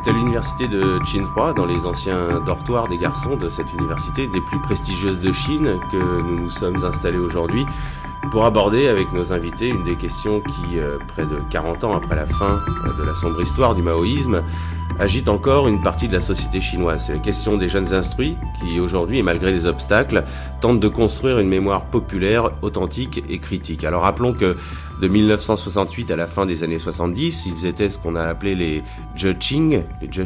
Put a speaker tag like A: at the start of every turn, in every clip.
A: C'est à l'université de Tsinghua, dans les anciens dortoirs des garçons de cette université, des plus prestigieuses de Chine, que nous nous sommes installés aujourd'hui pour aborder avec nos invités une des questions qui, près de 40 ans après la fin de la sombre histoire du maoïsme, agite encore une partie de la société chinoise. C'est la question des jeunes instruits qui, aujourd'hui, et malgré les obstacles, tentent de construire une mémoire populaire, authentique et critique. Alors rappelons que de 1968 à la fin des années 70, ils étaient ce qu'on a appelé les Zhexing,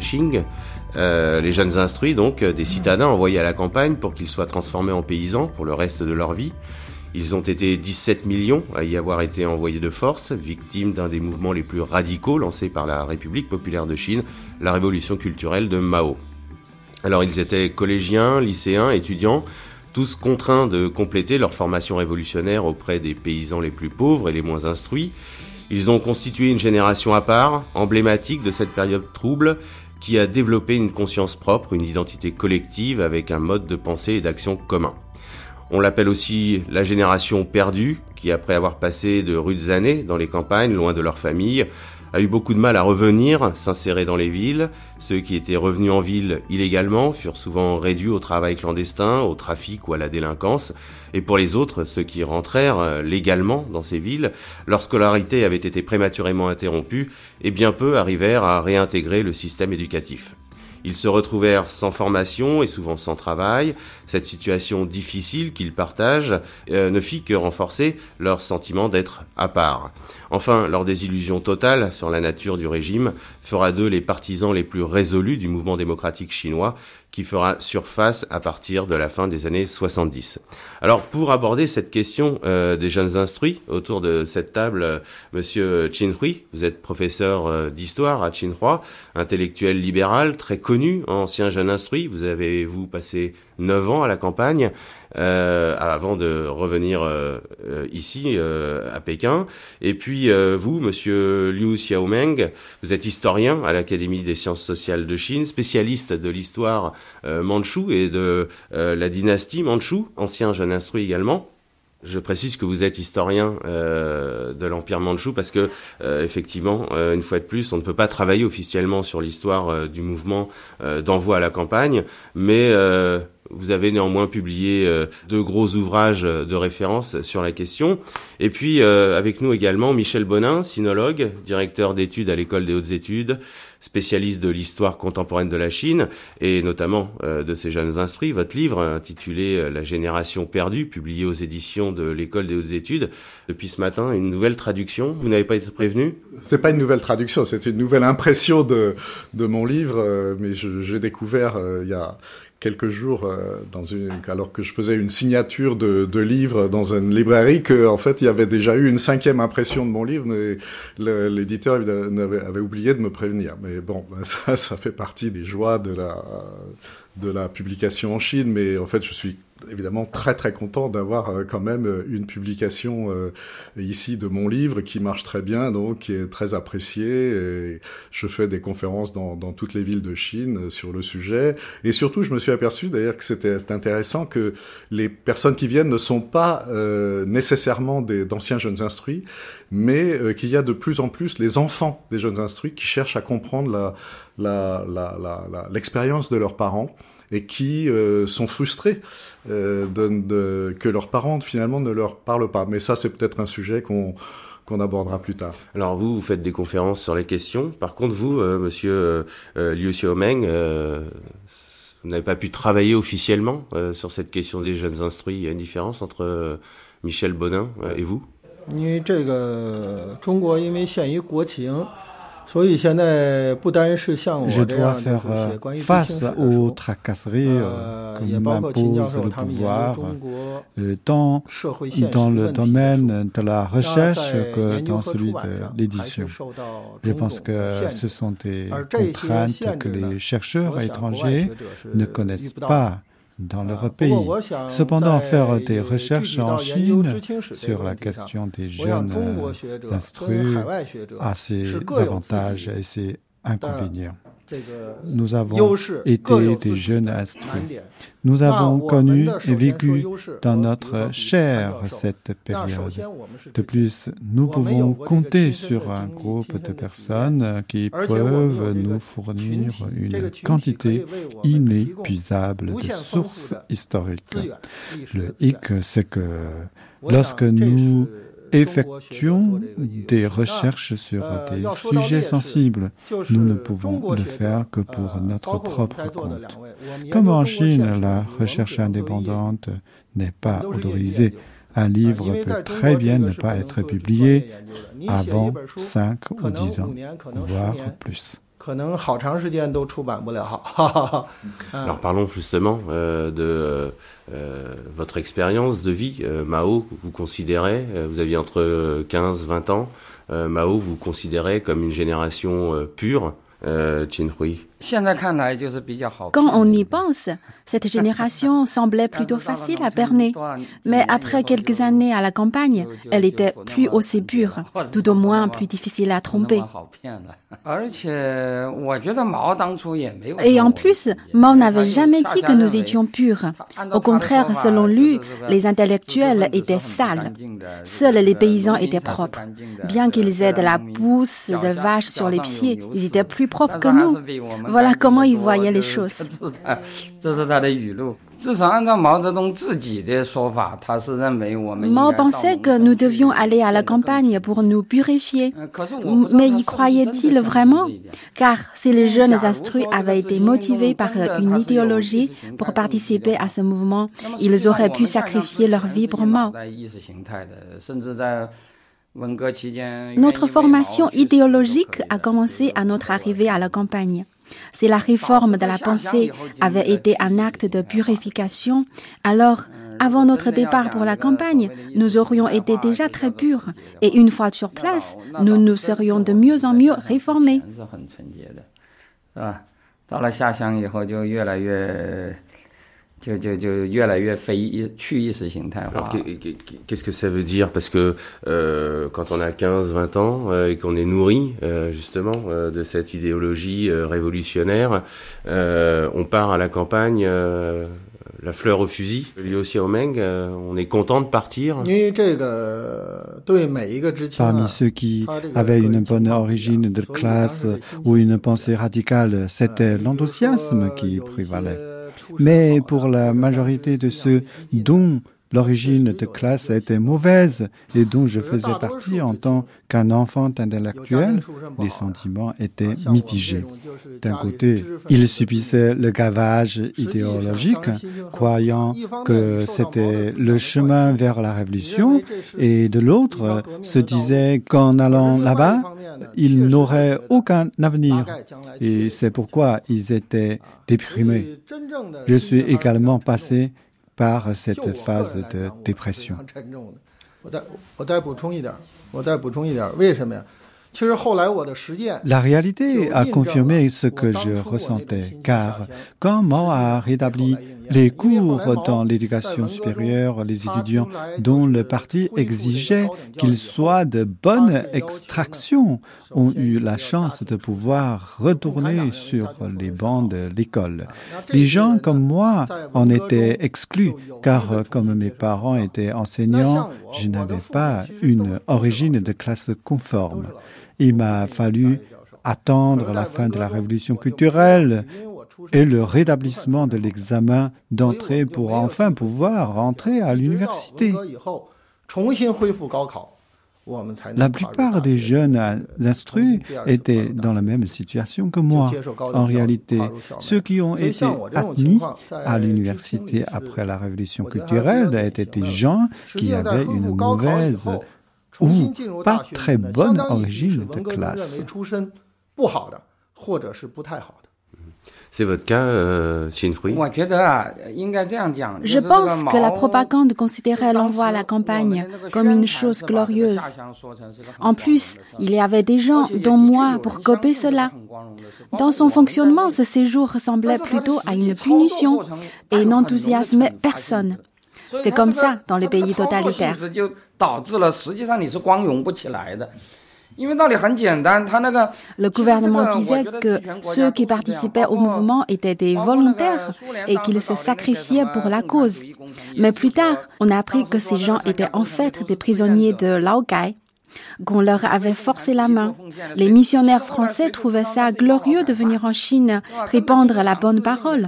A: les jeunes instruits, donc des citadins envoyés à la campagne pour qu'ils soient transformés en paysans pour le reste de leur vie. Ils ont été 17 millions à y avoir été envoyés de force, victimes d'un des mouvements les plus radicaux lancés par la République populaire de Chine, la révolution culturelle de Mao. Alors ils étaient collégiens, lycéens, étudiants, tous contraints de compléter leur formation révolutionnaire auprès des paysans les plus pauvres et les moins instruits. Ils ont constitué une génération à part, emblématique de cette période trouble, qui a développé une conscience propre, une identité collective avec un mode de pensée et d'action commun. On l'appelle aussi la génération perdue, qui après avoir passé de rudes années dans les campagnes, loin de leur famille, a eu beaucoup de mal à revenir, s'insérer dans les villes. Ceux qui étaient revenus en ville illégalement furent souvent réduits au travail clandestin, au trafic ou à la délinquance. Et pour les autres, ceux qui rentrèrent légalement dans ces villes, leur scolarité avait été prématurément interrompue et bien peu arrivèrent à réintégrer le système éducatif. Ils se retrouvèrent sans formation et souvent sans travail. Cette situation difficile qu'ils partagent ne fit que renforcer leur sentiment d'être à part. Enfin, leur désillusion totale sur la nature du régime fera d'eux les partisans les plus résolus du mouvement démocratique chinois qui fera surface à partir de la fin des années 70. Alors, pour aborder cette question des jeunes instruits, autour de cette table, Monsieur Qin Hui, vous êtes professeur d'histoire à Tsinghua, intellectuel libéral, très connu, ancien jeune instruit. Vous avez, passé 9 ans à la campagne, avant de revenir ici, à Pékin. Et puis, vous, Monsieur Liu Xiaomeng, vous êtes historien à l'Académie des sciences sociales de Chine, spécialiste de l'histoire mandchoue et de la dynastie mandchoue, ancien jeune instruit également. Je précise que vous êtes historien de l'Empire mandchou parce que, effectivement, une fois de plus, on ne peut pas travailler officiellement sur l'histoire du mouvement d'envoi à la campagne, mais vous avez néanmoins publié 2 gros ouvrages de référence sur la question. Et puis, avec nous également, Michel Bonin, sinologue, directeur d'études à l'École des hautes études, spécialiste de l'histoire contemporaine de la Chine, et notamment de ces jeunes instruits. Votre livre, intitulé « La génération perdue », publié aux éditions de l'École des hautes études. Depuis ce matin, une nouvelle traduction. Vous n'avez pas été prévenu ?
B: C'était pas une nouvelle traduction, c'était une nouvelle impression de mon livre, mais j'ai découvert il y a quelques jours, alors que je faisais une signature de livre dans une librairie, que en fait il y avait déjà eu une 5e impression de mon livre, mais l'éditeur avait oublié de me prévenir. Mais bon, ça fait partie des joies de la publication en Chine. Mais en fait, je suis évidemment très très content d'avoir quand même une publication ici de mon livre qui marche très bien, donc qui est très apprécié. Et je fais des conférences dans toutes les villes de Chine sur le sujet. Et surtout, je me suis aperçu d'ailleurs que c'est intéressant que les personnes qui viennent ne sont pas nécessairement d'anciens jeunes instruits, mais qu'il y a de plus en plus les enfants des jeunes instruits qui cherchent à comprendre l'expérience de leurs parents et qui sont frustrés que leurs parents finalement ne leur parlent pas. Mais ça, c'est peut-être un sujet qu'on abordera plus tard.
A: Alors vous faites des conférences sur les questions. Par contre, vous, Monsieur Liu Xiaomeng, vous n'avez pas pu travailler officiellement sur cette question des jeunes instruits. Il y a une différence entre Michel Bonin et vous ?
C: Je dois faire face aux tracasseries que m'impose le pouvoir, tant dans le domaine de la recherche que dans celui de l'édition. Je pense que ce sont des contraintes que les chercheurs étrangers ne connaissent pas dans leur pays. Cependant, faire des recherches en Chine sur la question des jeunes instruits a ses avantages et ses inconvénients. Nous avons été des jeunes instruits. Nous avons connu et vécu dans notre chair cette période. De plus, nous pouvons compter sur un groupe de personnes qui peuvent nous fournir une quantité inépuisable de sources historiques. Le hic, c'est que lorsque nous effectuons des recherches sur des sujets sensibles, nous ne pouvons le faire que pour notre propre compte. Comme en Chine, la recherche indépendante n'est pas autorisée. Un livre peut très bien ne pas être publié avant 5 ou 10 ans, voire plus.
A: Alors parlons justement de votre expérience de vie. Mao, vous considérez, vous aviez entre 15 et 20 ans, Mao vous considérez comme une génération pure, Qin Hui.
D: Quand on y pense, cette génération semblait plutôt facile à berner. Mais après quelques années à la campagne, elle était plus aussi pure, tout au moins plus difficile à tromper. Et en plus, Mao n'avait jamais dit que nous étions purs. Au contraire, selon lui, les intellectuels étaient sales. Seuls les paysans étaient propres. Bien qu'ils aient de la pousse de vache sur les pieds, ils étaient plus propres que nous. Voilà comment il voyait les choses. Mao pensait que nous devions aller à la campagne pour nous purifier. Mais y croyait-il vraiment? Car si les jeunes instruits avaient été motivés par une idéologie pour participer à ce mouvement, ils auraient pu sacrifier leur vie pour Mao. Notre formation idéologique a commencé à notre arrivée à la campagne. Si la réforme de la pensée avait été un acte de purification, alors, avant notre départ pour la campagne, nous aurions été déjà très purs. Et une fois sur place, nous nous serions de mieux en mieux réformés.
A: Alors, qu'est-ce que ça veut dire? Parce que quand on a 15-20 ans et qu'on est nourri justement de cette idéologie révolutionnaire, on part à la campagne la fleur au fusil. Liu Xiaomeng, on est content de partir.
C: Parmi ceux qui avaient une bonne origine de classe ou une pensée radicale, c'était l'enthousiasme qui prévalait. Mais pour la majorité de ceux dont l'origine de classe était mauvaise et dont je faisais partie en tant qu'un enfant intellectuel, les sentiments étaient mitigés. D'un côté, ils subissaient le gavage idéologique, croyant que c'était le chemin vers la révolution, et de l'autre, se disaient qu'en allant là-bas, ils n'auraient aucun avenir. Et c'est pourquoi ils étaient déprimés. Je suis également passé par cette phase de dépression. La réalité a confirmé ce que je ressentais, car quand Mao a rétabli les cours dans l'éducation supérieure, les étudiants dont le parti exigeait qu'ils soient de bonne extraction ont eu la chance de pouvoir retourner sur les bancs de l'école. Les gens comme moi en étaient exclus, car comme mes parents étaient enseignants, je n'avais pas une origine de classe conforme. Il m'a fallu attendre la fin de la révolution culturelle et le rétablissement de l'examen d'entrée pour enfin pouvoir rentrer à l'université. La plupart des jeunes instruits étaient dans la même situation que moi. En réalité, ceux qui ont été admis à l'université après la révolution culturelle étaient des gens qui avaient une mauvaise ou pas très bonne origine de classe.
A: C'est votre cas, Qin Hui?
D: Je pense que la propagande considérait l'envoi à la campagne comme une chose glorieuse. En plus, il y avait des gens, dont moi, pour copier cela. Dans son fonctionnement, ce séjour ressemblait plutôt à une punition et n'enthousiasmait personne. C'est comme ça dans les pays totalitaires. Le gouvernement disait que ceux qui participaient au mouvement étaient des volontaires et qu'ils se sacrifiaient pour la cause. Mais plus tard, on a appris que ces gens étaient en fait des prisonniers de Laogai, qu'on leur avait forcé la main. Les missionnaires français trouvaient ça glorieux de venir en Chine répandre la bonne parole.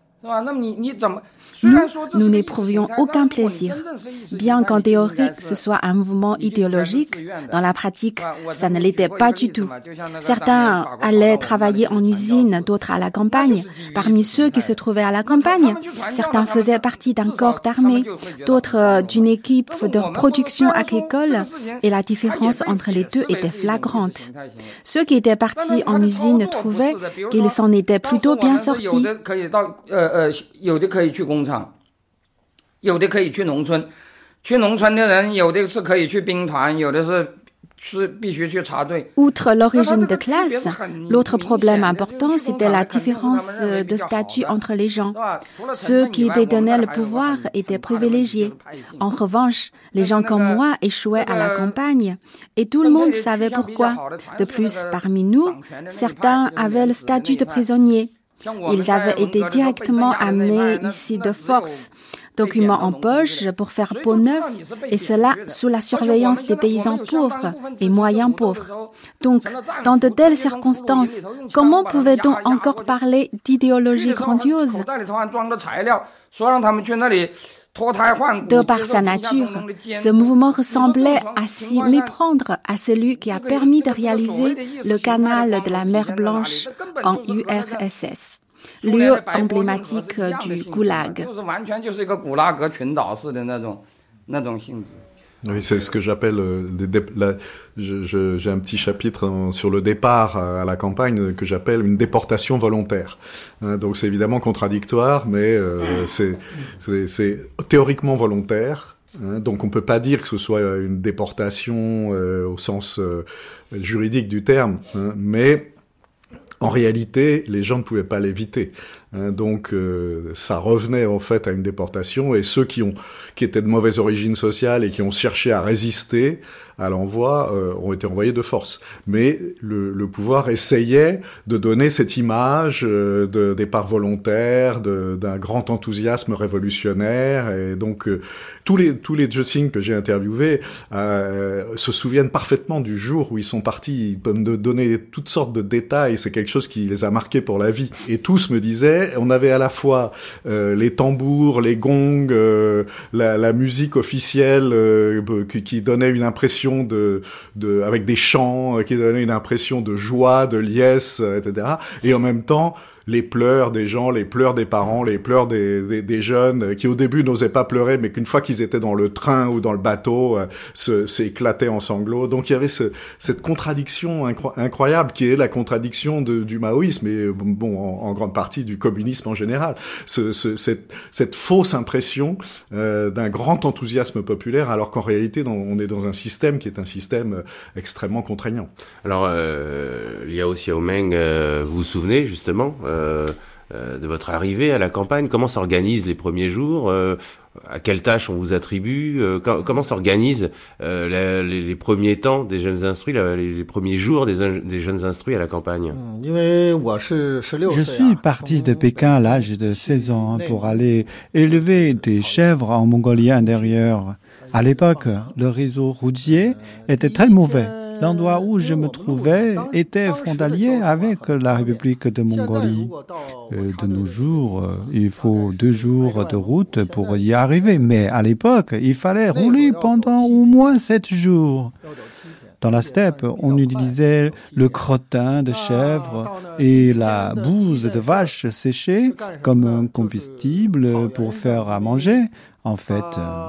D: Nous n'éprouvions aucun plaisir. Bien qu'en théorie, ce soit un mouvement idéologique, dans la pratique, ça ne l'était pas du tout. Certains allaient travailler en usine, d'autres à la campagne. Parmi ceux qui se trouvaient à la campagne, certains faisaient partie d'un corps d'armée, d'autres d'une équipe de production agricole, et la différence entre les deux était flagrante. Ceux qui étaient partis en usine trouvaient qu'ils s'en étaient plutôt bien sortis. Outre l'origine de classe, l'autre problème important, c'était la différence de statut entre les gens. Ceux qui détenaient le pouvoir étaient privilégiés. En revanche, les gens comme moi échouaient à la campagne, et tout le monde savait pourquoi. De plus, parmi nous, certains avaient le statut de prisonniers. Ils avaient été directement amenés ici de force, documents en poche pour faire peau neuve, et cela sous la surveillance des paysans pauvres et moyens pauvres. Donc, dans de telles circonstances, comment pouvait-on encore parler d'idéologie grandiose ? De par sa nature, ce mouvement ressemblait à s'y méprendre à celui qui a permis de réaliser le canal de la mer Blanche en URSS, lieu emblématique du goulag.
B: Oui, c'est ce que j'appelle j'ai un petit chapitre sur le départ à la campagne que j'appelle une déportation volontaire. Donc c'est évidemment contradictoire, mais c'est théoriquement volontaire. Donc on peut pas dire que ce soit une déportation au sens juridique du terme, mais en réalité, les gens ne pouvaient pas l'éviter. Donc ça revenait en fait à une déportation, et ceux qui étaient de mauvaise origine sociale et qui ont cherché à résister à l'envoi ont été envoyés de force. Mais le pouvoir essayait de donner cette image de départ volontaire, d'un grand enthousiasme révolutionnaire, et donc tous les Jeuxing que j'ai interviewés se souviennent parfaitement du jour où ils sont partis. Ils peuvent me donner toutes sortes de détails, c'est quelque chose qui les a marqués pour la vie. Et tous me disaient, on avait à la fois les tambours, les gongs, la musique officielle qui donnait une impression avec des chants qui donnaient une impression de joie, de liesse, etc. Et en même temps, les pleurs des gens, les pleurs des parents, les pleurs des jeunes qui au début n'osaient pas pleurer, mais qu'une fois qu'ils étaient dans le train ou dans le bateau, s'éclataient en sanglots. Donc il y avait cette contradiction incroyable qui est la contradiction du maoïsme et en grande partie du communisme en général. Cette fausse impression d'un grand enthousiasme populaire, alors qu'en réalité on est dans un système qui est un système extrêmement contraignant.
A: Alors Liao Xiaomeng, vous vous souvenez justement de votre arrivée à la campagne? Comment s'organisent les premiers jours? À quelles tâches on vous attribue? Comment s'organisent les premiers temps des jeunes instruits, les premiers jours des jeunes instruits à la campagne?
C: Je suis parti de Pékin à l'âge de 16 ans pour aller élever des chèvres en Mongolie intérieure. À l'époque, le réseau routier était très mauvais. L'endroit où je me trouvais était frontalier avec la République de Mongolie. De nos jours, il faut 2 jours de route pour y arriver. Mais à l'époque, il fallait rouler pendant au moins 7 jours. Dans la steppe, on utilisait le crottin de chèvre et la bouse de vache séchée comme un combustible pour faire à manger. En fait,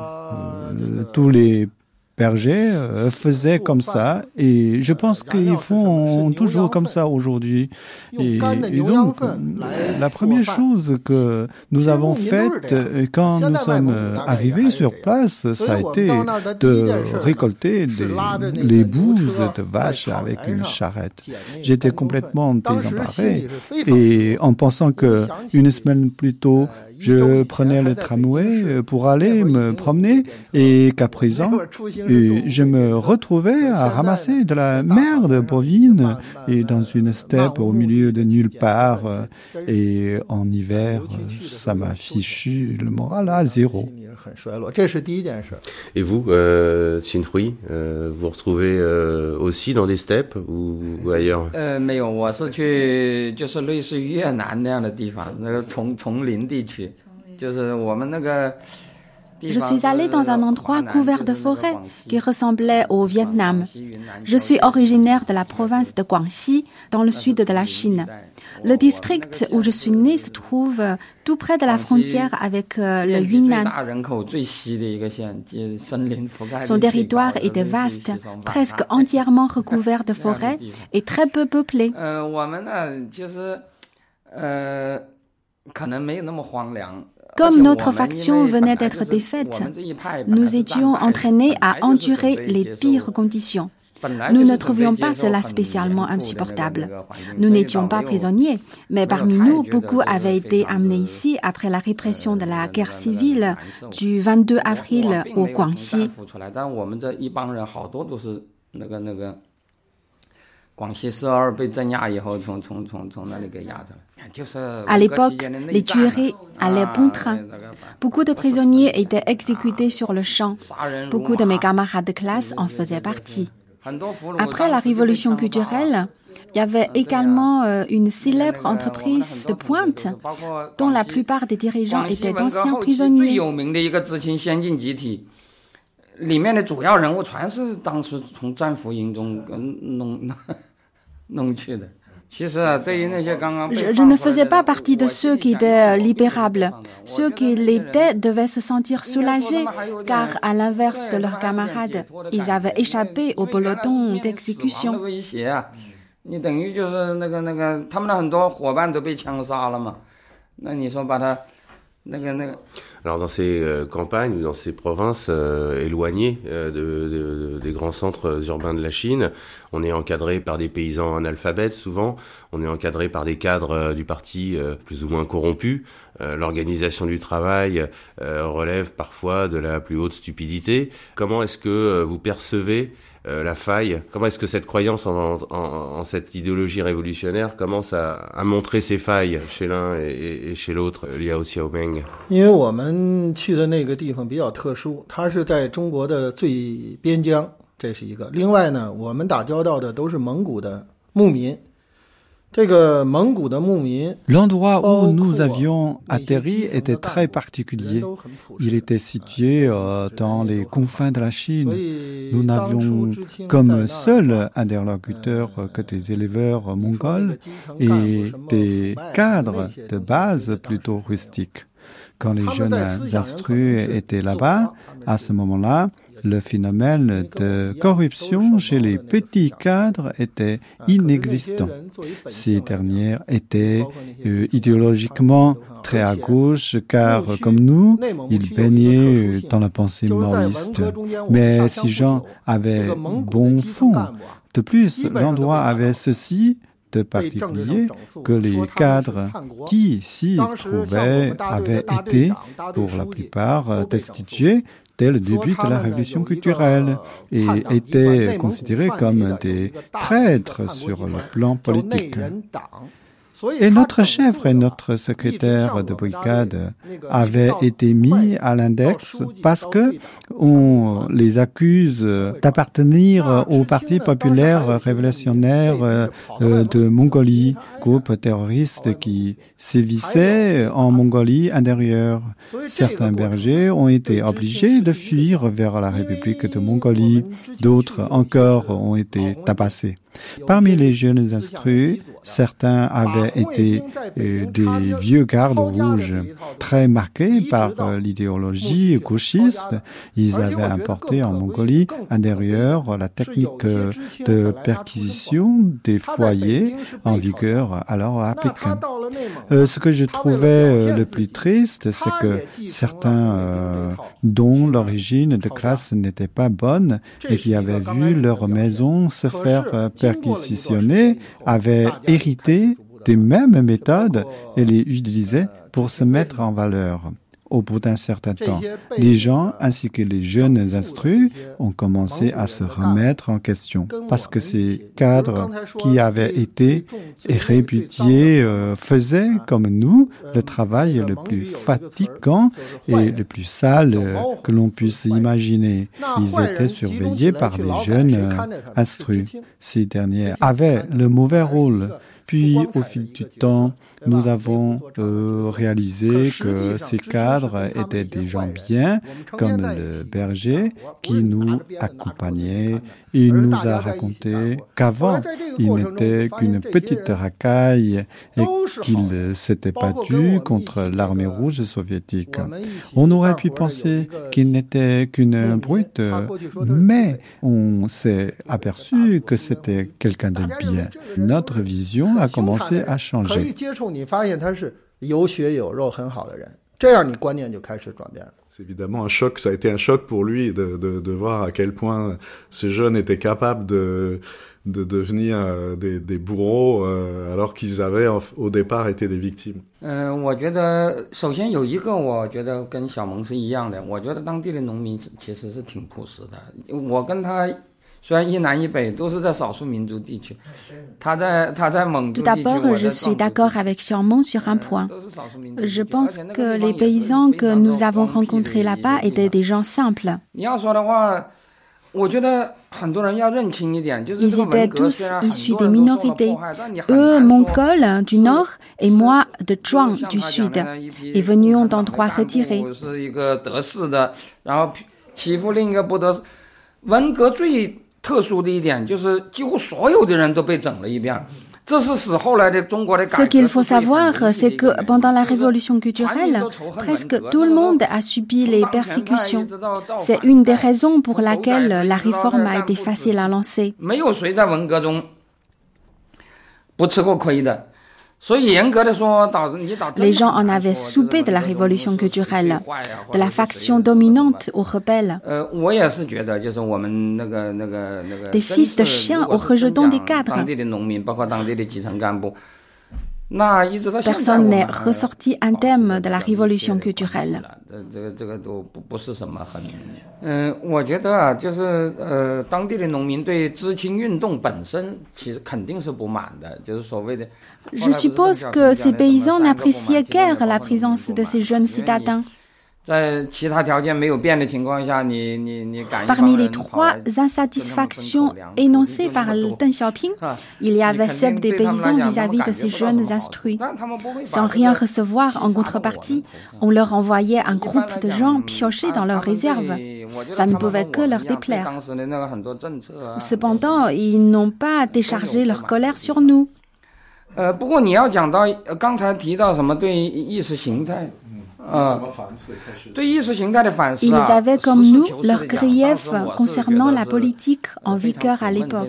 C: tous les bergers faisaient comme ça, et je pense qu'ils font toujours comme ça aujourd'hui. Et donc, la première chose que nous avons faite quand nous sommes arrivés sur place, ça a été de récolter les bouses de vache avec une charrette. J'étais complètement désemparé, et en pensant qu'une semaine plus tôt, je prenais le tramway pour aller me promener et qu'à présent, je me retrouvais à ramasser de la merde bovine et dans une steppe au milieu de nulle part. Et en hiver, ça m'a fichu le moral à zéro.
A: Et vous, Qin Hui, vous retrouvez aussi dans des steppes ou ailleurs?
D: Je suis allée dans un endroit couvert de forêts qui ressemblait au Vietnam. Je suis originaire de la province de Guangxi, dans le sud de la Chine. Le district où je suis née se trouve tout près de la frontière avec le Yunnan. Son territoire était vaste, presque entièrement recouvert de forêts et très peu peuplé. Comme notre faction venait d'être défaite, nous étions entraînés à endurer les pires conditions. Nous ne trouvions pas cela spécialement insupportable. Nous n'étions pas prisonniers, mais parmi nous, beaucoup avaient été amenés ici après la répression de la guerre civile du 22 avril au Guangxi. À l'époque, les tueries allaient bon train. Beaucoup de prisonniers étaient exécutés sur le champ. Beaucoup de mes camarades de classe en faisaient partie. Après la révolution culturelle, il y avait également une célèbre entreprise de pointe dont la plupart des dirigeants étaient d'anciens prisonniers. Je ne faisais pas partie de ceux qui étaient libérables. Ceux qui l'étaient devaient se sentir soulagés, car à l'inverse de leurs camarades, ils avaient échappé au peloton d'exécution.
A: Alors dans ces campagnes ou dans ces provinces éloignées des grands centres urbains de la Chine, on est encadré par des paysans analphabètes souvent, on est encadré par des cadres du parti plus ou moins corrompus. L'organisation du travail relève parfois de la plus haute stupidité. Comment est-ce que vous percevez la faille? Comment est-ce que cette croyance en cette idéologie révolutionnaire commence à montrer ses failles chez l'un et chez l'autre, Liao Xiaomeng?
E: 因为我们去的那个地方比较特殊，它是在中国的最边疆，这是一个。另外呢，我们打交道的都是蒙古的牧民。
C: L'endroit où nous avions atterri était très particulier. Il était situé dans les confins de la Chine. Nous n'avions comme seul interlocuteur que des éleveurs mongols et des cadres de base plutôt rustiques. Quand les jeunes instruits étaient là-bas, à ce moment-là, le phénomène de corruption chez les petits cadres était inexistant. Ces derniers étaient idéologiquement très à gauche car, comme nous, ils baignaient dans la pensée maoïste. Mais ces gens avaient bon fond. De plus, l'endroit avait ceci de particulier que les cadres qui s'y trouvaient avaient été, pour la plupart, destitués dès le début de la révolution culturelle et étaient considérés comme des traîtres sur le plan politique. Et notre chef et notre secrétaire de brigade avaient été mis à l'index parce que on les accuse d'appartenir au Parti populaire révolutionnaire de Mongolie, groupe terroriste qui sévissait en Mongolie intérieure. Certains bergers ont été obligés de fuir vers la République de Mongolie, d'autres encore ont été tabassés. Parmi les jeunes instruits, certains avaient été des vieux gardes rouges, très marqués par l'idéologie gauchiste. Ils avaient importé en Mongolie intérieure la technique de perquisition des foyers en vigueur alors à Pékin. Ce que je trouvais le plus triste, c'est que certains dont l'origine de classe n'était pas bonne et qui avaient vu leur maison se faire perquisitionner avaient hérité Ces mêmes méthodes, elle les utilisait pour se mettre en valeur. Au bout d'un certain temps, les gens ainsi que les jeunes instruits ont commencé à se remettre en question parce que ces cadres qui avaient été réputés faisaient, comme nous, le travail le plus fatigant et le plus sale que l'on puisse imaginer. Ils étaient surveillés par les jeunes instruits. Ces derniers avaient le mauvais rôle. Puis, au fil du temps, nous avons réalisé que ces cadres étaient des gens bien, comme le berger qui nous accompagnait. Il nous a raconté qu'avant, il n'était qu'une petite racaille et qu'il s'était battu contre l'armée rouge soviétique. On aurait pu penser qu'il n'était qu'une brute, mais on s'est aperçu que c'était quelqu'un de bien. Notre vision a commencé à changer.
B: C'est évidemment un choc, ça a été un choc pour lui de voir à quel point ces jeunes étaient capables de devenir des bourreaux alors qu'ils avaient au départ été des victimes.
F: 我觉得首先有一个我觉得跟小蒙是一样的，我觉得当地的农民其实是挺朴实的。我跟他 Tout
D: d'abord, je suis d'accord avec Xiaomeng sur un point. Je pense que les paysans que nous avons rencontrés là-bas étaient des gens simples. Ils étaient tous issus des minorités. Eux, Mongols du nord et moi de Zhuang du sud, et venions d'endroits retirés.
F: 特殊的一点就是几乎所有的人都被整了一遍。
D: Ce qu'il faut savoir, c'est que pendant la révolution culturelle, presque tout le monde a subi les persécutions. C'est une des raisons pour laquelle la réforme a été facile à lancer. Les gens en avaient soupé de la révolution culturelle, de la faction dominante aux rebelles, des fils de chiens aux rejetons des cadres. Personne n'est ressorti indemne de la révolution culturelle. Je suppose que ces paysans n'appréciaient guère la présence de ces jeunes citadins. Parmi les trois insatisfactions énoncées par Deng Xiaoping, il y avait celle des paysans vis-à-vis de ces jeunes instruits. Sans rien recevoir en contrepartie, on leur envoyait un groupe de gens piocher dans leurs réserves. Ça ne pouvait que leur déplaire. Cependant, ils n'ont pas déchargé leur colère sur nous.
F: 不过你要讲到刚才提到什么对意识形态
D: Ils avaient comme nous leurs griefs concernant la politique en vigueur à l'époque.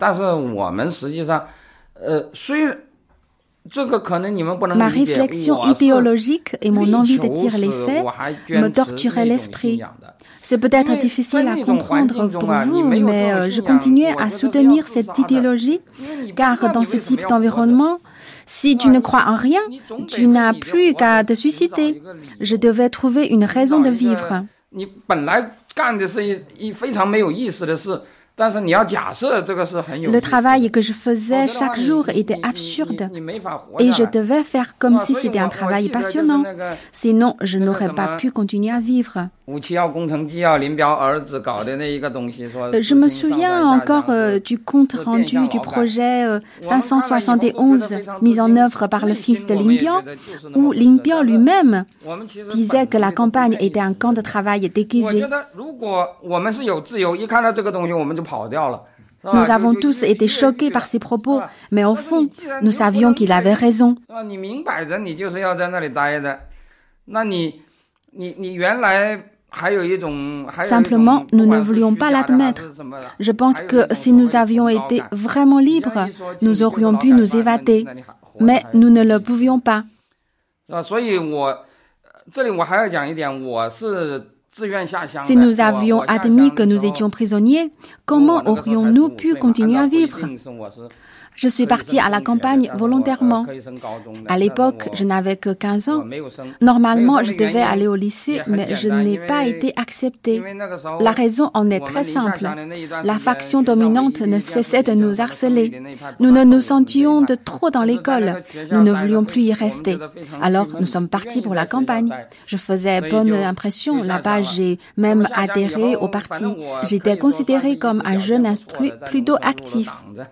D: Ma réflexion idéologique et mon envie de dire les faits me torturaient l'esprit. C'est peut-être difficile à comprendre pour vous, mais je continuais à soutenir cette idéologie, car dans ce type d'environnement, si tu ne crois en rien, tu n'as plus qu'à te suicider. Je devais trouver une raison de vivre. Le travail que je faisais chaque jour était absurde et je devais faire comme si c'était un travail passionnant. Sinon, je n'aurais pas pu continuer à vivre. Je me souviens encore du compte rendu du projet 571 mis en œuvre par le fils de Lin Biao, où Lin Biao lui-même disait que la campagne était un camp de travail déguisé. Nous avons tous été choqués par ses propos, mais au fond, nous savions qu'il avait raison. Simplement, nous ne voulions pas l'admettre. Je pense que si nous avions été vraiment libres, nous aurions pu nous évader. Mais nous ne le pouvions pas. Si nous avions admis que nous étions prisonniers, comment aurions-nous pu continuer à vivre? Je suis partie à la campagne volontairement. À l'époque, je n'avais que 15 ans. Normalement, je devais aller au lycée, mais je n'ai pas été acceptée. La raison en est très simple. La faction dominante ne cessait de nous harceler. Nous nous sentions de trop dans l'école. Nous ne voulions plus y rester. Alors, nous sommes partis pour la campagne. Je faisais bonne impression. Là-bas, j'ai même adhéré au parti. J'étais considérée comme un jeune instruit plutôt actif.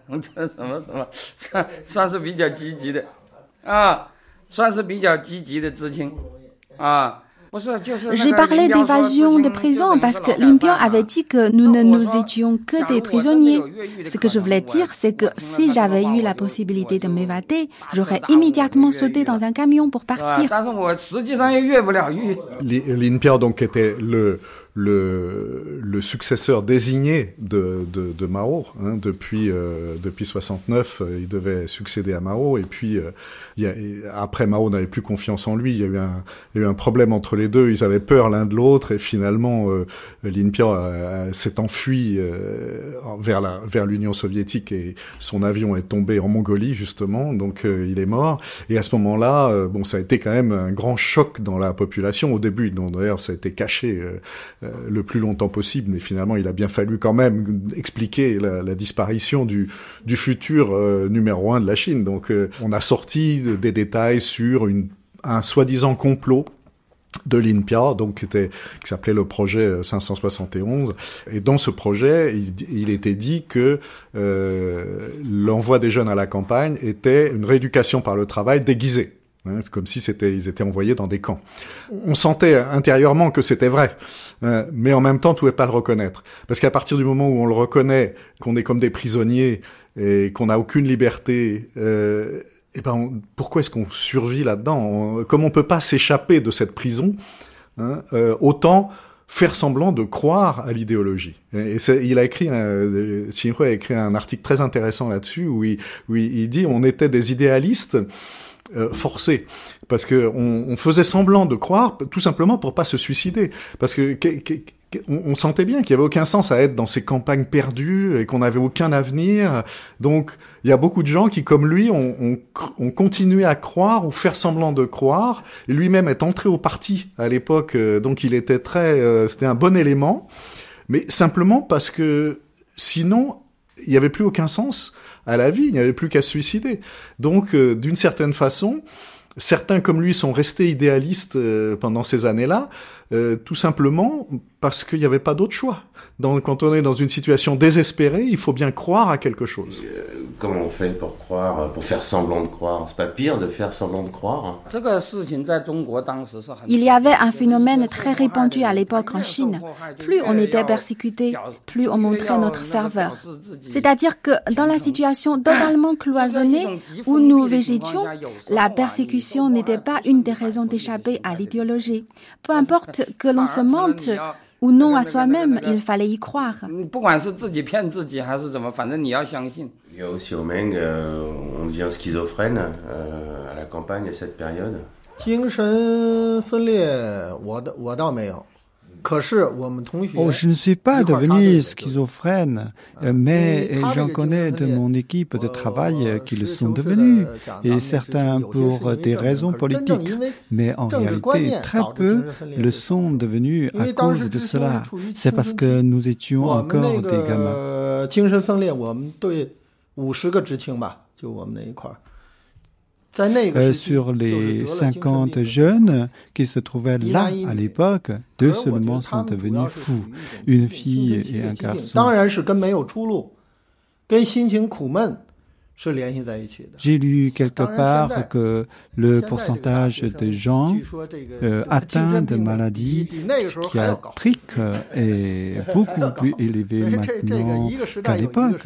D: J'ai parlé d'évasion de prison parce que Lin Biao avait dit que nous ne nous étions que des prisonniers. Ce que je voulais dire, c'est que si j'avais eu la possibilité de m'évader, j'aurais immédiatement sauté dans un camion pour partir.
B: Lin Biao donc était le successeur désigné de Mao, hein, depuis 69, il devait succéder à Mao, et puis après Mao n'avait plus confiance en lui, il y a eu un problème entre les deux, ils avaient peur l'un de l'autre, et finalement Lin Biao s'est enfui vers l'Union soviétique, et son avion est tombé en Mongolie justement, donc il est mort, et à ce moment-là, ça a été quand même un grand choc dans la population au début, donc d'ailleurs ça a été caché le plus longtemps possible, mais finalement il a bien fallu quand même expliquer la disparition du futur numéro 1 de la Chine. Donc on a sorti des détails sur un soi-disant complot de Lin Biao, donc qui s'appelait le projet 571, et dans ce projet il était dit que l'envoi des jeunes à la campagne était une rééducation par le travail déguisée. C'est comme si ils étaient envoyés dans des camps. On sentait intérieurement que c'était vrai, mais en même temps, on ne pouvait pas le reconnaître. Parce qu'à partir du moment où on le reconnaît, qu'on est comme des prisonniers et qu'on n'a aucune liberté, pourquoi est-ce qu'on survit là-dedans ? Comme on ne peut pas s'échapper de cette prison, autant faire semblant de croire à l'idéologie. Et il a écrit, Qin Hui a écrit un article très intéressant là-dessus où il dit on était des idéalistes forcés, parce que on faisait semblant de croire tout simplement pour pas se suicider, parce que on sentait bien qu'il y avait aucun sens à être dans ces campagnes perdues et qu'on n'avait aucun avenir. Donc il y a beaucoup de gens qui, comme lui, ont continué à croire ou faire semblant de croire. Et lui-même est entré au parti à l'époque, donc il était c'était un bon élément, mais simplement parce que sinon il n'y avait plus aucun sens à la vie, il n'y avait plus qu'à se suicider. Donc, d'une certaine façon, certains comme lui sont restés idéalistes pendant ces années-là, tout simplement parce qu'il n'y avait pas d'autre choix. Quand on est dans une situation désespérée, il faut bien croire à quelque chose.
A: Comment on fait pour croire, pour faire semblant de croire ? C'est pas pire de faire semblant de croire ?
D: Il y avait un phénomène très répandu à l'époque en Chine. Plus on était persécuté, plus on montrait notre ferveur. C'est-à-dire que dans la situation totalement cloisonnée où nous végétions, la persécution n'était pas une des raisons d'échapper à l'idéologie. Peu importe que l'on se mente ou non à soi-même, il fallait y croire.
A: Yao Xiaomeng, on devient schizophrène à la campagne à cette période.
E: 精神分裂，我倒没有。
C: je ne suis pas devenu schizophrène, mais j'en connais de mon équipe de travail qui le sont devenus, et certains pour des raisons politiques, mais en réalité très peu le sont devenus à cause de cela. C'est parce que nous étions encore des gamins.
E: 精神分裂，我们队50个知青吧，就我们那一块儿。
C: sur les 50 jeunes qui se trouvaient là à l'époque, 2 seulement sont devenus fous, une fille et un garçon. J'ai lu quelque part que le pourcentage de gens atteints de maladies psychiatriques est beaucoup plus élevé maintenant qu'à l'époque.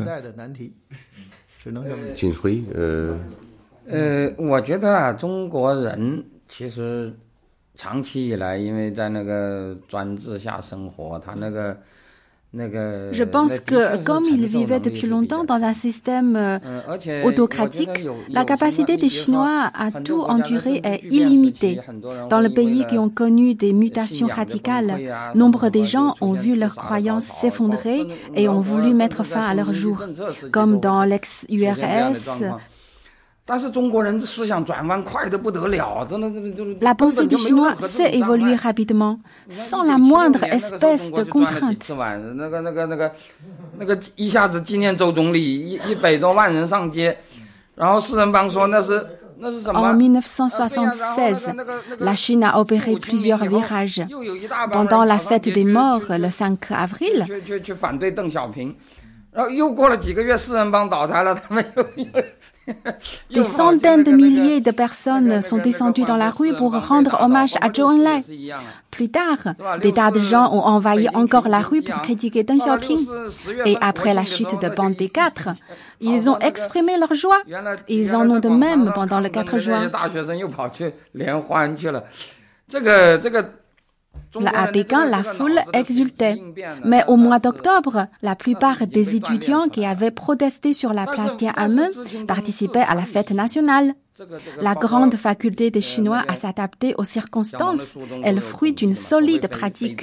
A: Qin Hui,
F: 我觉得中国人其实长期以来，因为在那个专制下生活，他那个
D: Je pense que comme ils vivaient depuis longtemps dans un système autocratique, la capacité des Chinois à tout endurer est illimitée. Dans les pays qui ont connu des mutations radicales, nombre de gens ont vu leurs croyances s'effondrer et ont voulu mettre fin à leur jour, comme dans l'ex-URSS. La pensée des Chinois sait évoluer rapidement, sans la moindre espèce de contrainte. En 1976, la Chine a opéré plusieurs virages. Pendant la fête des morts, le 5 avril, des centaines de milliers de personnes sont descendues dans la rue pour rendre hommage à Zhou Enlai. Plus tard, des tas de gens ont envahi encore la rue pour critiquer Deng Xiaoping. Et après la chute de Bande B4, ils ont exprimé leur joie. Ils en ont de même pendant le 4 juin. Là, à Pékin, la foule exultait. Mais au mois d'octobre, la plupart des étudiants qui avaient protesté sur la place Tiananmen participaient à la fête nationale. La grande faculté de chinois à s'adapter aux circonstances est le fruit d'une solide pratique.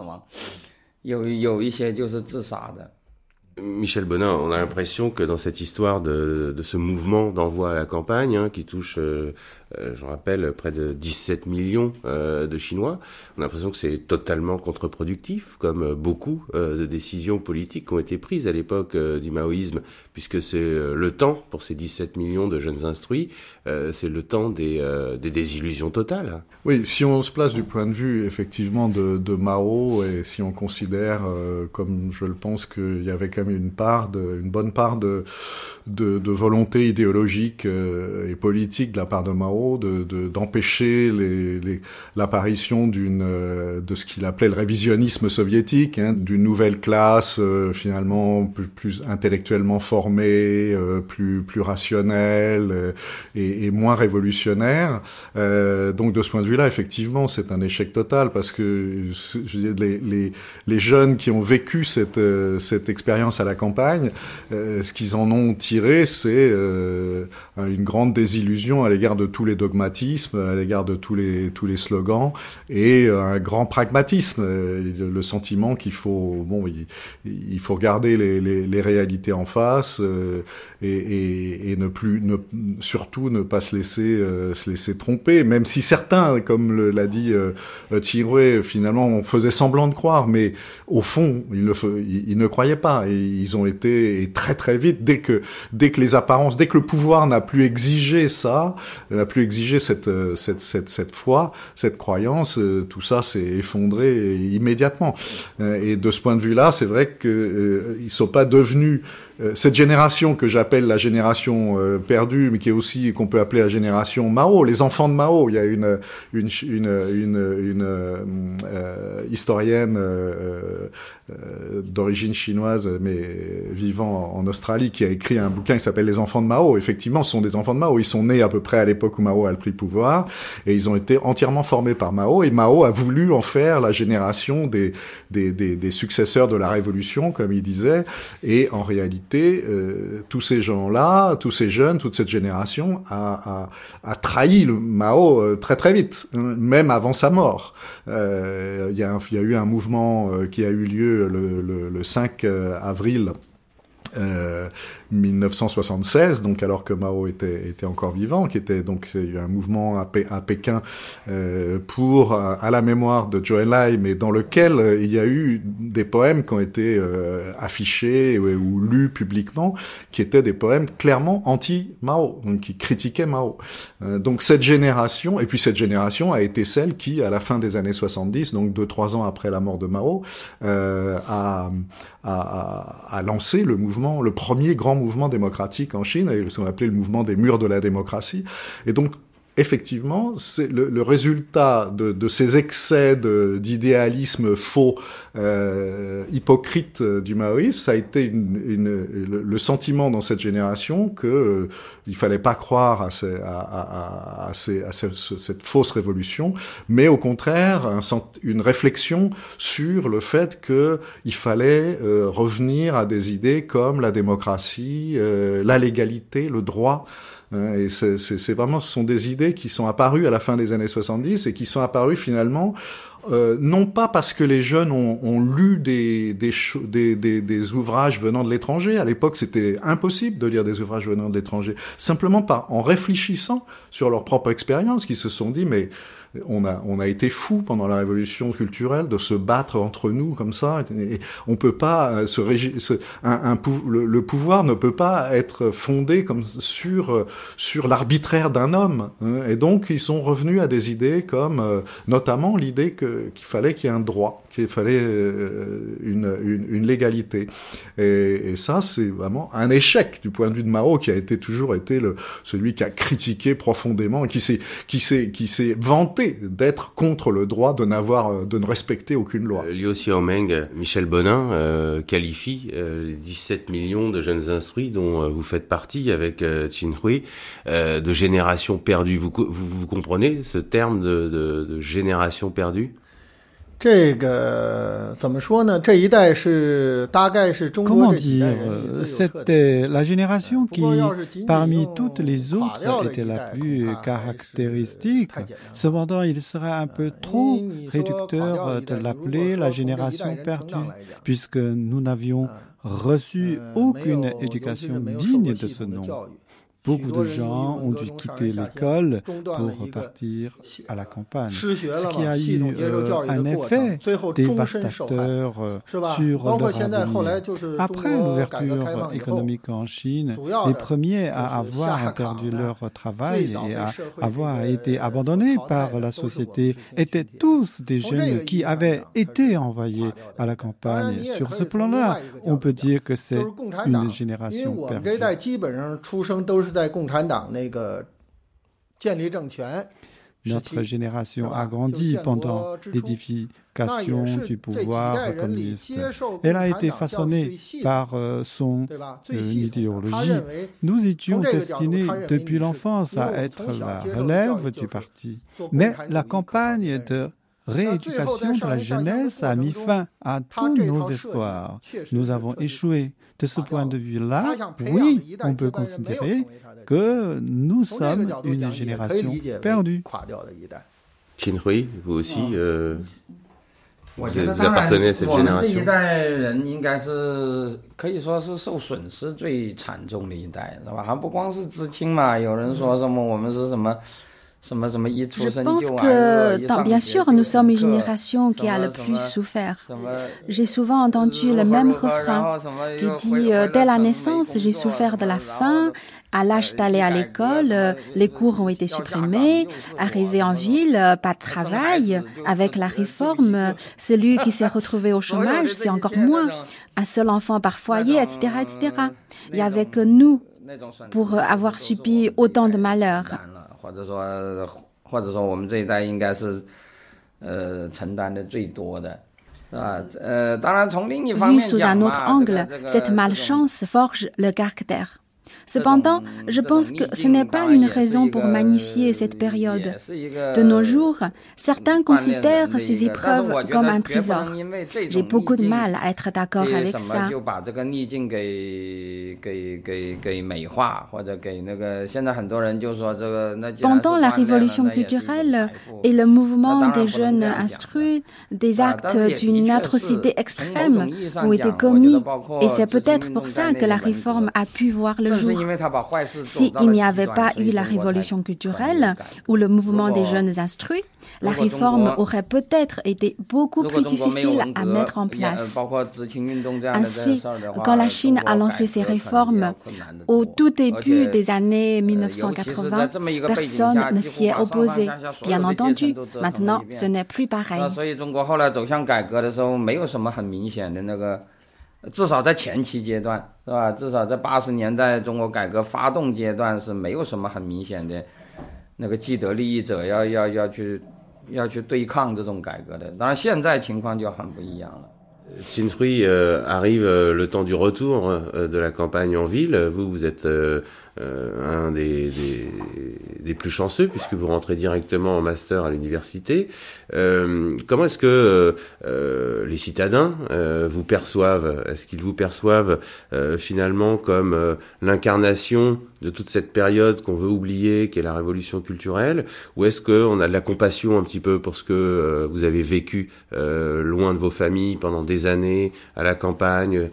A: Michel Bonin, on a l'impression que dans cette histoire de ce mouvement d'envoi à la campagne, qui touche, je rappelle, près de 17 millions de Chinois, on a l'impression que c'est totalement contre-productif, comme beaucoup de décisions politiques qui ont été prises à l'époque du maoïsme, puisque c'est le temps, pour ces 17 millions de jeunes instruits, c'est le temps des désillusions totales.
B: Oui, si on se place du point de vue, effectivement, de Mao, et si on considère, comme je le pense, qu'il y avait quand même une bonne part de volonté idéologique et politique de la part de Mao d'empêcher l'apparition de ce qu'il appelait le révisionnisme soviétique, d'une nouvelle classe finalement plus intellectuellement formée, plus rationnelle et moins révolutionnaire. Donc de ce point de vue-là, effectivement, c'est un échec total parce que je veux dire, les jeunes qui ont vécu cette expérience à la campagne, ce qu'ils en ont tiré, c'est une grande désillusion à l'égard de tous les dogmatismes, à l'égard de tous les slogans, et un grand pragmatisme, le sentiment qu'il faut il faut regarder les réalités en face et surtout ne pas se laisser tromper, même si certains, comme l'a dit Thierry, finalement faisaient semblant de croire, mais au fond ils ne croyaient pas, et ils ont été très très vite, dès que les apparences, dès que le pouvoir n'a plus exigé ça, n'a plus exigé cette foi, cette croyance, tout ça s'est effondré immédiatement. Et de ce point de vue-là, c'est vrai que ils sont pas devenus cette génération que j'appelle la génération perdue, mais qui est aussi qu'on peut appeler la génération Mao, les enfants de Mao. Il y a une historienne d'origine chinoise mais vivant en Australie qui a écrit un bouquin qui s'appelle Les enfants de Mao. Effectivement, ce sont des enfants de Mao. Ils sont nés à peu près à l'époque où Mao a pris le pouvoir et ils ont été entièrement formés par Mao, et Mao a voulu en faire la génération des successeurs de la révolution, comme il disait, et en réalité tous ces gens-là, tous ces jeunes, toute cette génération a trahi le Mao très très vite, même avant sa mort. Il y a eu un mouvement qui a eu lieu le 5 avril 1976, donc alors que Mao était encore vivant, donc il y a eu un mouvement à Pékin pour à la mémoire de Zhou Enlai, mais dans lequel il y a eu des poèmes qui ont été affichés ou lus publiquement, qui étaient des poèmes clairement anti-Mao, donc qui critiquaient Mao. Donc cette génération a été celle qui, à la fin des années 70, donc 2-3 ans après la mort de Mao, a lancé le premier grand mouvement démocratique en Chine, ce qu'on appelait le mouvement des murs de la démocratie. Et donc, effectivement, c'est le résultat de ces excès d'idéalisme faux, hypocrite du maoïsme. Ça a été le sentiment dans cette génération que il fallait pas croire à cette fausse révolution, mais au contraire une réflexion sur le fait que il fallait revenir à des idées comme la démocratie, la légalité, le droit. Et c'est vraiment, ce sont des idées qui sont apparues à la fin des années 70 et qui sont apparues finalement non pas parce que les jeunes ont lu des ouvrages venant de l'étranger. À l'époque, c'était impossible de lire des ouvrages venant de l'étranger. Simplement en réfléchissant sur leur propre expérience, qu'ils se sont dit, mais on a été fous pendant la révolution culturelle de se battre entre nous comme ça. Et on peut pas le pouvoir ne peut pas être fondé comme sur l'arbitraire d'un homme. Et donc ils sont revenus à des idées comme notamment l'idée qu'il fallait qu'il y ait un droit, qu'il fallait une légalité. Et ça, c'est vraiment un échec du point de vue de Mao, qui a toujours été celui qui a critiqué profondément et qui s'est vanté d'être contre le droit de ne respecter aucune loi.
A: Liu Xiaomeng, Michel Bonin qualifie les 17 millions de jeunes instruits dont vous faites partie avec Qin Hui de génération perdue. Vous comprenez ce terme de génération perdue?
C: Comment dire, c'était la génération qui, parmi toutes les autres, était la plus caractéristique. Cependant, il serait un peu trop réducteur de l'appeler la génération perdue, puisque nous n'avions reçu aucune éducation digne de ce nom. Beaucoup de gens ont dû quitter l'école pour partir à la campagne, ce qui a eu un effet dévastateur sur leur avenir. Après l'ouverture économique en Chine, les premiers à avoir perdu leur travail et à avoir été abandonnés par la société étaient tous des jeunes qui avaient été envoyés à la campagne. Sur ce plan-là, on peut dire que c'est une génération perdue. Notre génération a grandi pendant l'édification du pouvoir communiste. Elle a été façonnée par son idéologie. Nous étions destinés depuis l'enfance à être la relève du parti. Mais la campagne de rééducation de la jeunesse a mis fin à tous nos espoirs. Nous avons échoué. De ce point de vue-là, oui, on peut considérer que nous sommes une génération perdue.
A: Qin Hui, vous aussi, vous appartenez à cette génération.
D: Je pense que, bien sûr, nous sommes une génération qui a le plus souffert. J'ai souvent entendu le même refrain qui dit « Dès la naissance, j'ai souffert de la faim. À l'âge d'aller à l'école, les cours ont été supprimés. Arrivé en ville, pas de travail. Avec la réforme, celui qui s'est retrouvé au chômage, c'est encore moins. Un seul enfant par foyer, etc., etc. Il n'y avait que nous pour avoir subi autant de malheurs. » Vu sous un autre angle, cette malchance forge le caractère. Cependant, je pense que ce n'est pas une raison pour magnifier cette période. De nos jours, certains considèrent ces épreuves comme un trésor. J'ai beaucoup de mal à être d'accord avec ça. Pendant la révolution culturelle et le mouvement des jeunes instruits, des actes d'une atrocité extrême ont été commis et c'est peut-être pour ça que la réforme a pu voir le jour. S'il n'y avait pas eu la révolution culturelle ou le mouvement des jeunes instruits, la réforme aurait peut-être été beaucoup plus difficile à mettre en place. Ainsi, quand la Chine a lancé ses réformes au tout début des années 1980, personne ne s'y est opposé. Bien entendu, maintenant, ce n'est plus pareil.
F: 至少在前期阶段，是吧？至少在80年代中国改革发动阶段是没有什么很明显的那个既得利益者要去对抗这种改革的。当然，现在情况就很不一样了。
A: Chin Hui, arrive le temps du retour de la campagne en ville. Vous êtes un des plus chanceux puisque vous rentrez directement en master à l'université. Comment est-ce que les citadins vous perçoivent? Est-ce qu'ils vous perçoivent finalement comme l'incarnation de toute cette période qu'on veut oublier, qui est la révolution culturelle, ou est-ce qu'on a de la compassion un petit peu pour ce que vous avez vécu loin de vos familles pendant des années, à la campagne?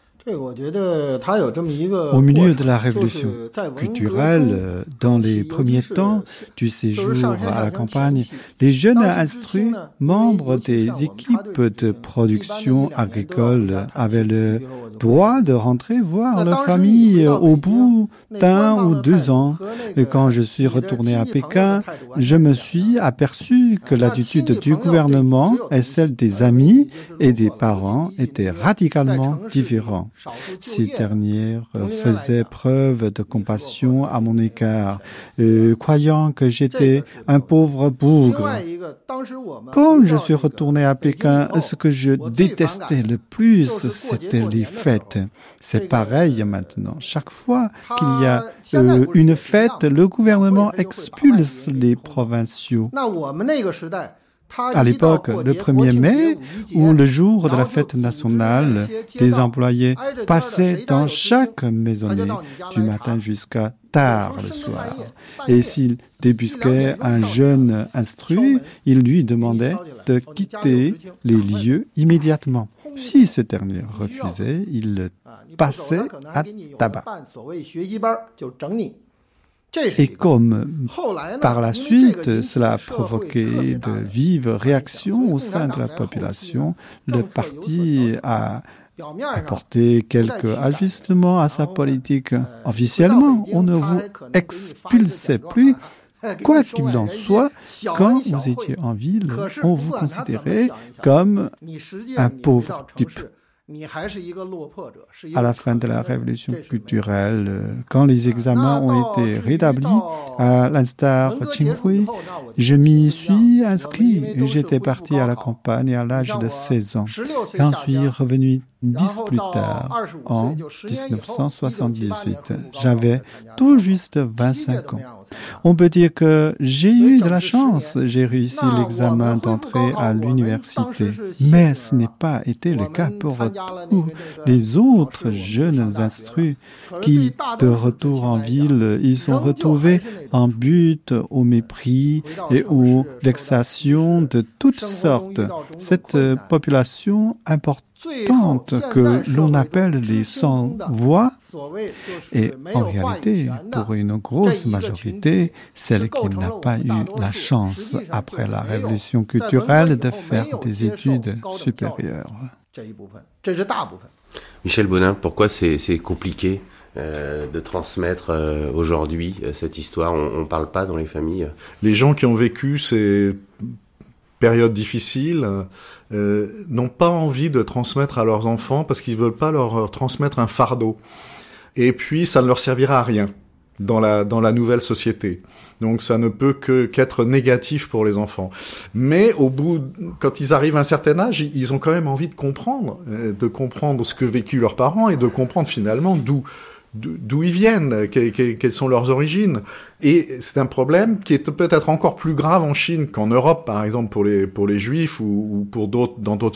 C: Au milieu de la révolution culturelle, dans les premiers temps du séjour à la campagne, les jeunes instruits, membres des équipes de production agricole, avaient le droit de rentrer voir leur famille au bout d'1 ou 2 ans. Et quand je suis retourné à Pékin, je me suis aperçu que l'attitude du gouvernement et celle des amis et des parents étaient radicalement différentes. Ces dernières faisaient preuve de compassion à mon égard, croyant que j'étais un pauvre bougre. Quand je suis retourné à Pékin, ce que je détestais le plus, c'était les fêtes. C'est pareil maintenant. Chaque fois qu'il y a une fête, le gouvernement expulse les provinciaux. À l'époque, le 1er mai, ou le jour de la fête nationale, des employés passaient dans chaque maisonnée du matin jusqu'à tard le soir. Et s'il débusquait un jeune instruit, il lui demandait de quitter les lieux immédiatement. Si ce dernier refusait, il passait à tabac. Et comme par la suite, cela a provoqué de vives réactions au sein de la population, le parti a apporté quelques ajustements à sa politique. Officiellement, on ne vous expulsait plus. Quoi qu'il en soit, quand vous étiez en ville, on vous considérait comme un pauvre type. À la fin de la révolution culturelle, quand les examens ont été rétablis, à l'instar de Chin Hui, je m'y suis inscrit. J'étais parti à la campagne à l'âge de 16 ans. J'en suis revenu 10 plus tard, en 1978. J'avais tout juste 25 ans. On peut dire que j'ai eu de la chance, j'ai réussi l'examen d'entrée à l'université. Mais ce n'est pas été le cas pour tous les autres jeunes instruits qui, de retour en ville, ils sont retrouvés en butte au mépris et aux vexations de toutes sortes. Cette population importante que l'on appelle les sans-voix est en réalité, pour une grosse majorité, celle qui n'a pas eu la chance, après la révolution culturelle, de faire des études supérieures.
A: Michel Bonin, pourquoi c'est compliqué de transmettre aujourd'hui cette histoire? On ne parle pas dans les familles.
B: Les gens qui ont vécu ces périodes difficiles n'ont pas envie de transmettre à leurs enfants parce qu'ils veulent pas leur transmettre un fardeau. Et puis, ça ne leur servira à rien dans la nouvelle société. Donc, ça ne peut qu'être négatif pour les enfants. Mais quand ils arrivent à un certain âge, ils ont quand même envie de comprendre ce que vécu leurs parents et de comprendre finalement d'où ils viennent, quelles sont leurs origines. Et c'est un problème qui est peut-être encore plus grave en Chine qu'en Europe, par exemple, pour les Juifs ou pour d'autres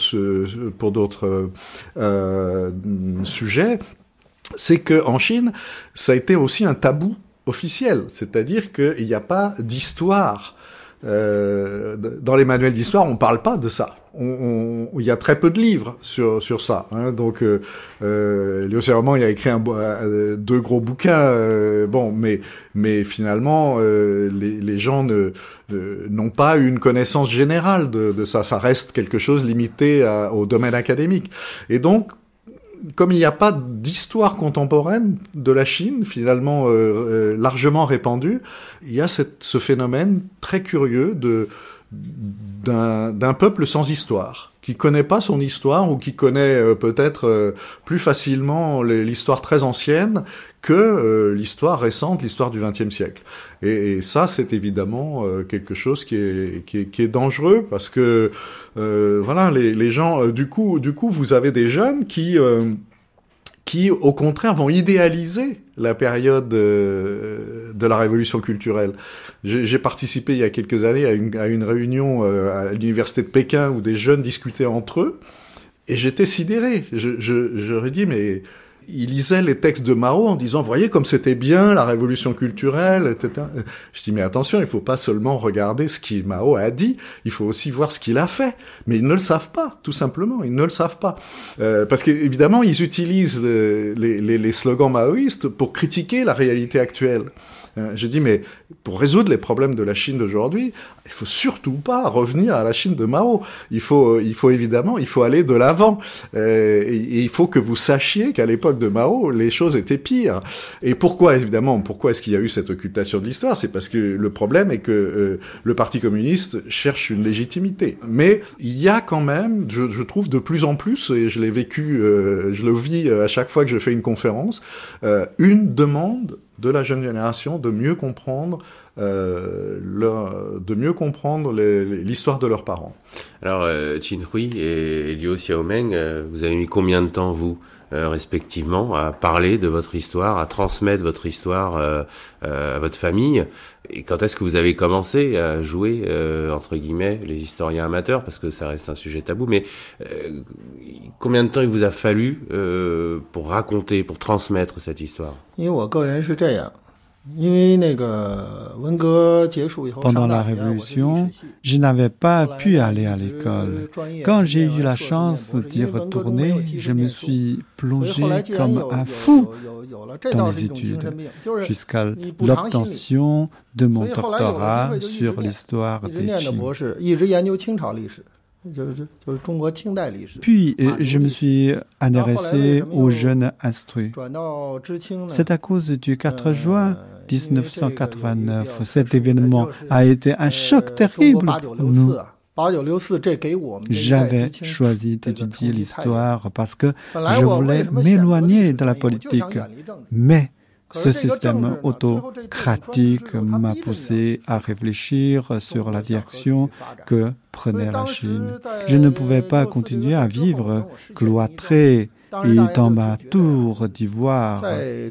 B: sujets. C'est que en Chine, ça a été aussi un tabou officiel, c'est-à-dire qu'il n'y a pas d'histoire. Dans les manuels d'histoire, on parle pas de ça. Il y a très peu de livres sur ça. Hein. Donc, Liu Xiaomeng a écrit 2 gros bouquins. Mais finalement, les gens n'ont pas une connaissance générale de ça. Ça reste quelque chose limité au domaine académique. Et donc, comme il n'y a pas d'histoire contemporaine de la Chine, finalement largement répandue, il y a ce phénomène très curieux d'un peuple sans histoire, qui connaît pas son histoire ou qui connaît peut-être plus facilement l'histoire très ancienne que l'histoire récente, l'histoire du XXe siècle. Et ça, c'est évidemment quelque chose qui est dangereux parce que voilà, les gens, du coup, vous avez des jeunes qui, au contraire, vont idéaliser la période de la révolution culturelle. J'ai participé il y a quelques années à une réunion à l'université de Pékin où des jeunes discutaient entre eux, et j'étais sidéré. J'aurais dit, mais ils lisaient les textes de Mao en disant, voyez comme c'était bien la révolution culturelle, etc. Je dis, mais attention, il faut pas seulement regarder ce que Mao a dit, il faut aussi voir ce qu'il a fait. Mais ils ne le savent pas, tout simplement, ils ne le savent pas. Parce qu'évidemment, ils utilisent les slogans maoïstes pour critiquer la réalité actuelle. Je dis, mais pour résoudre les problèmes de la Chine d'aujourd'hui, il faut surtout pas revenir à la Chine de Mao. Il faut évidemment, il faut aller de l'avant. Et il faut que vous sachiez qu'à l'époque de Mao, les choses étaient pires. Et pourquoi est-ce qu'il y a eu cette occultation de l'histoire? C'est parce que le problème est que le Parti communiste cherche une légitimité. Mais il y a quand même, je trouve de plus en plus, et je l'ai vécu, je le vis à chaque fois que je fais une conférence, une demande de la jeune génération de mieux comprendre l'histoire de leurs parents.
A: Alors, Qin Hui et Liu Xiaomeng, vous avez mis combien de temps, vous, respectivement, à parler de votre histoire, à transmettre votre histoire à votre famille? Et quand est-ce que vous avez commencé à jouer, entre guillemets, les historiens amateurs, parce que ça reste un sujet tabou, mais combien de temps il vous a fallu pour raconter, pour transmettre cette histoire?
C: Pendant la Révolution, je n'avais pas pu aller à l'école. Quand j'ai eu la chance d'y retourner, je me suis plongé comme un fou dans les études, jusqu'à l'obtention de mon doctorat sur l'histoire des Qing. Puis, je me suis intéressé aux jeunes instruits. C'est à cause du 4 juin 1989. Cet événement a été un choc terrible pour nous. J'avais choisi d'étudier l'histoire parce que je voulais m'éloigner de la politique. Mais ce système autocratique m'a poussé à réfléchir sur la direction que prenait la Chine. Je ne pouvais pas continuer à vivre cloîtré et dans ma tour d'ivoire.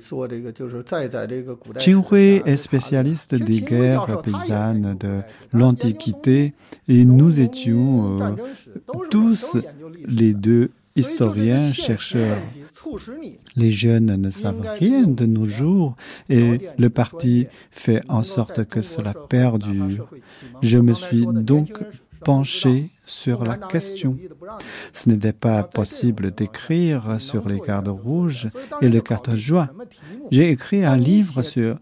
C: Qin Hui est spécialiste des guerres paysannes de l'Antiquité et nous étions tous les deux historiens, chercheurs. Les jeunes ne savent rien de nos jours et le parti fait en sorte que cela perdure. Je me suis donc penché sur la question. Ce n'était pas possible d'écrire sur les gardes rouges et le 4 juin. J'ai écrit un livre sur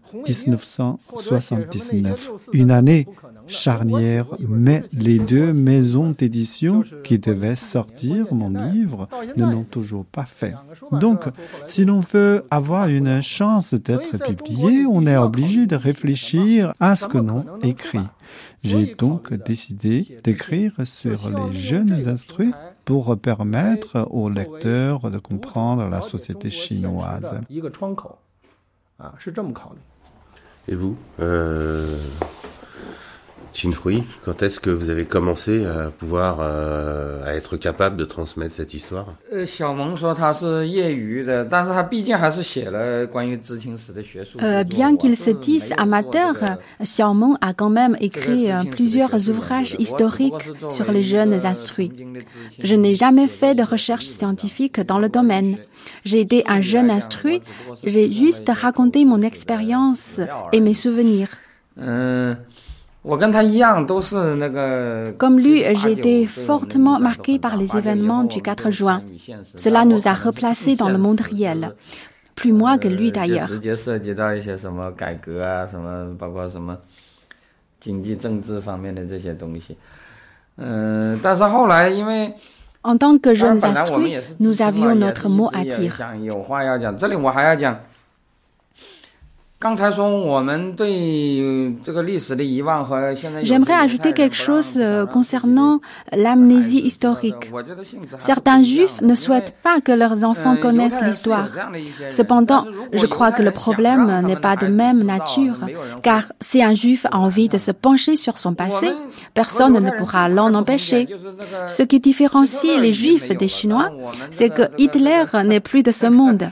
C: 1979, une année charnière, mais les deux maisons d'édition qui devaient sortir mon livre ne l'ont toujours pas fait. Donc, si l'on veut avoir une chance d'être publié, on est obligé de réfléchir à ce que l'on écrit. J'ai donc décidé d'écrire sur les jeunes instruits pour permettre aux lecteurs de comprendre la société chinoise.
A: Et vous, Qin Hui, quand est-ce que vous avez commencé à pouvoir à être capable de transmettre cette histoire?
D: Bien qu'il se dise amateur, Xiaomeng a quand même écrit plusieurs ouvrages historiques sur les jeunes instruits. Je n'ai jamais fait de recherche scientifique dans le domaine. J'ai été un jeune instruit, j'ai juste raconté mon expérience et mes souvenirs. Comme lui, j'ai été fortement marqué par les événements du 4 juin. Cela nous a replacés dans le monde réel. Plus moi que lui d'ailleurs. En tant que jeunes instruits, nous avions notre mot à dire. J'aimerais ajouter quelque chose concernant l'amnésie historique. Certains juifs ne souhaitent pas que leurs enfants connaissent l'histoire. Cependant, je crois que le problème n'est pas de même nature, car si un juif a envie de se pencher sur son passé, personne ne pourra l'en empêcher. Ce qui différencie les juifs des Chinois, c'est que Hitler n'est plus de ce monde.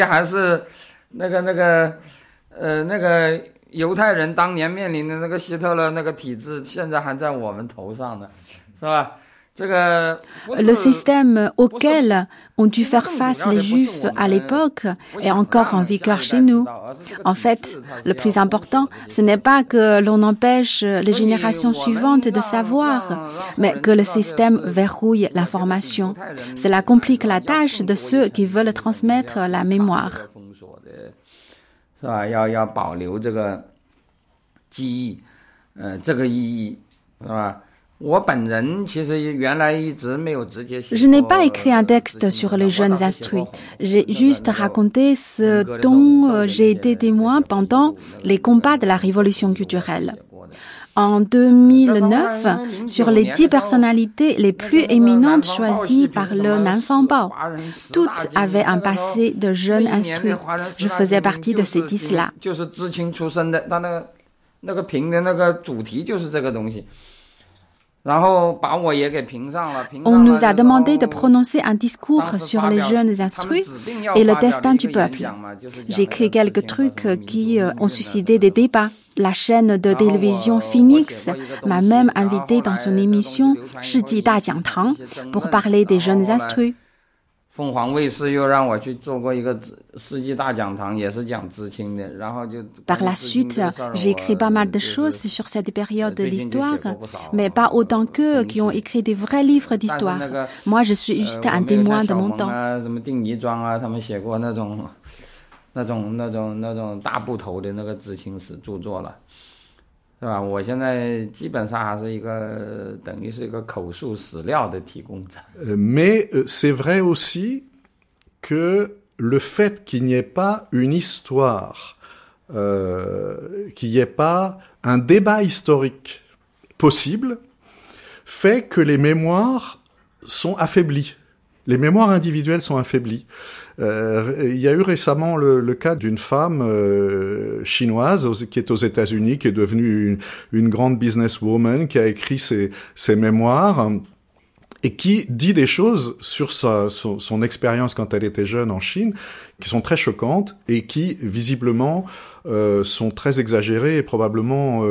F: 那个犹太人当年面临的那个希特勒那个体制，现在还在我们头上呢，是吧？
D: Le système auquel ont dû faire face les Juifs à l'époque est encore en vigueur chez nous. En fait, le plus important, ce n'est pas que l'on empêche les générations suivantes de savoir, mais que le système verrouille l'information. Cela complique la tâche de ceux qui veulent transmettre la mémoire.
F: 是吧？要保留这个记忆，这个意义，是吧？
D: Je n'ai pas écrit un texte sur les jeunes instruits. J'ai juste raconté ce dont j'ai été témoin pendant les combats de la révolution culturelle. En 2009, sur les 10 personnalités les plus éminentes choisies par le Nanfang Bao, toutes avaient un passé de jeunes instruits. Je faisais partie de ces 10-là. On nous a demandé de prononcer un discours sur les jeunes instruits et le destin du peuple. J'ai écrit quelques trucs qui ont suscité des débats. La chaîne de télévision Phoenix m'a même invité dans son émission « Shiji Da Jiang Tang » pour parler des jeunes instruits. Par la suite, j'ai écrit pas mal de choses sur cette période de l'histoire, mais pas autant qu'eux qui ont écrit des vrais livres d'histoire. Moi, je suis juste un témoin de mon temps.
F: 那种大部头的那个知青史著作了，是吧？我现在基本上还是一个等于是一个口述史料的提供者。
B: Mais c'est vrai aussi que le fait qu'il n'y ait pas une histoire, qu'il n'y ait pas un débat historique possible, fait que les mémoires sont affaiblies. Les mémoires individuelles sont affaiblies. Il y a eu récemment le cas d'une femme chinoise qui est aux États-Unis, qui est devenue une grande businesswoman, qui a écrit ses mémoires et qui dit des choses sur son expérience quand elle était jeune en Chine, qui sont très choquantes et qui, visiblement, sont très exagérées et probablement